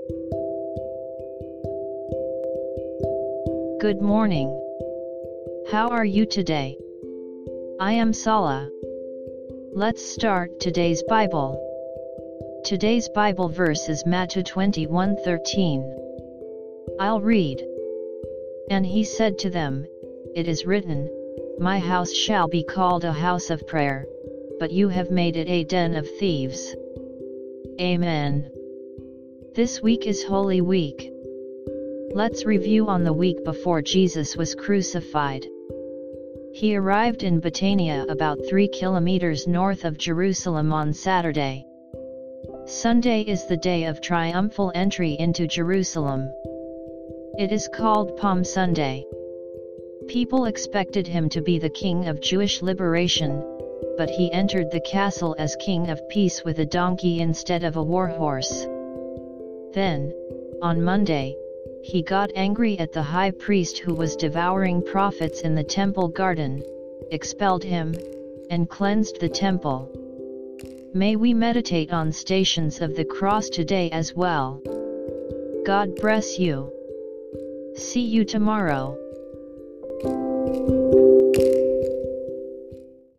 Good morning. How are you today? I am Sala. Let's start today's Bible. Today's Bible verse is Matthew 21:13. I'll read. And he said to them, It is written, My house shall be called a house of prayer, but you have made it a den of thieves. Amen. This week is Holy Week. Let's review on the week before Jesus was crucified. He arrived in Betania about 3 kilometers north of Jerusalem on Saturday. Sunday is the day of triumphal entry into Jerusalem. It is called Palm Sunday. People expected him to be the king of Jewish liberation, but he entered the castle as king of peace with a donkey instead of a war horse. Then, on Monday, he got angry at the high priest who was devouring prophets in the temple garden, expelled him, and cleansed the temple. May we meditate on stations of the cross today as well. God bless you. See you tomorrow.